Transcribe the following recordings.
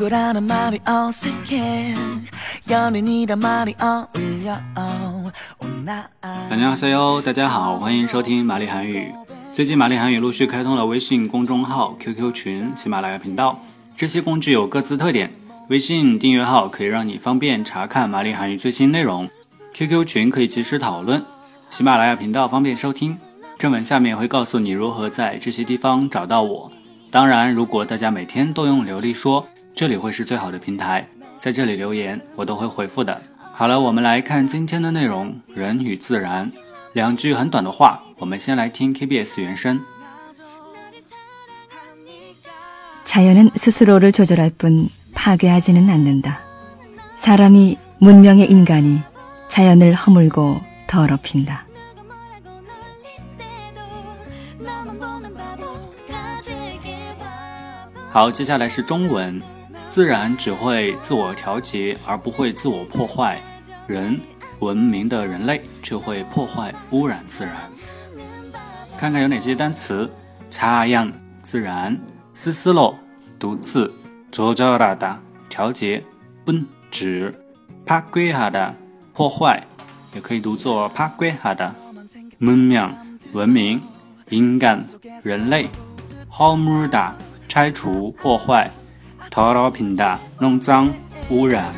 친구라는 말이 어색해 연인이란 말이 어울려 안녕하세요，大家好，欢迎收听玛丽韩语。最近玛丽韩语陆续开通了微信公众号、QQ 群、喜马拉雅频道，这些工具有各自特点。微信订阅号可以让你方便查看玛丽韩语最新内容， QQ 群可以及时讨论，喜马拉雅频道方便收听。正文下面会告诉你如何在这些地方找到我。当然，如果大家每天都用流利说，这里会是最好的平台，在这里留言我都会回复的。好了，我们来看今天的内容，人与自然。两句很短的话，我们先来听 KBS 原声。 자연은 스스로를 조절할 뿐 파괴하지는 않는다. 사람이 문명의 인간이 자연을 허물고 더럽힌다. 好，接下来是中文。自然只会自我调节，而不会自我破坏。人，文明的人类却会破坏污染自然。看看有哪些单词。자연自然，스스로独自，조절하다调节，분指，파괴하다破坏，也可以读作파괴하다。문명文明，인간人类，허물다拆除破坏，더럽힌다弄脏污染。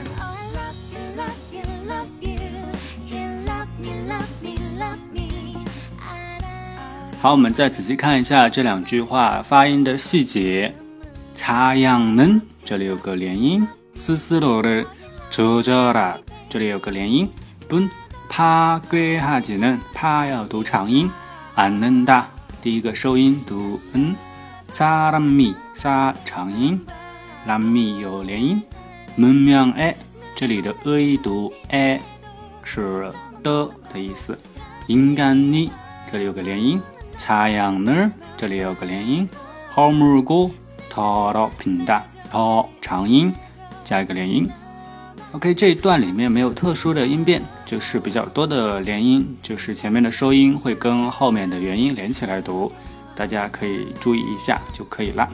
好，我们再仔细看一下这两句话发音的细节。자연은这里有个连音，스스로를 조절하这里有个连音，분 파괴하지는 파要读长音，않는다第一个收音读사람이 사长音，람이有连音，문명의这里的读是的意思，인간이这里有个连音，자연을这里有个连音，허물고 더럽힌다长音加一个连音。 OK， 这一段里面没有特殊的音变，就是比较多的连音，就是前面的收音会跟后面的元音连起来读，大家可以注意一下就可以了。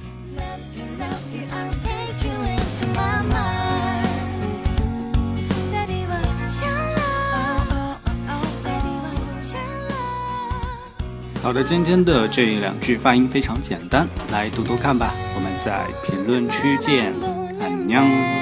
好的，今天的这两句发音非常简单，来读读看吧。我们在评论区见，안녕。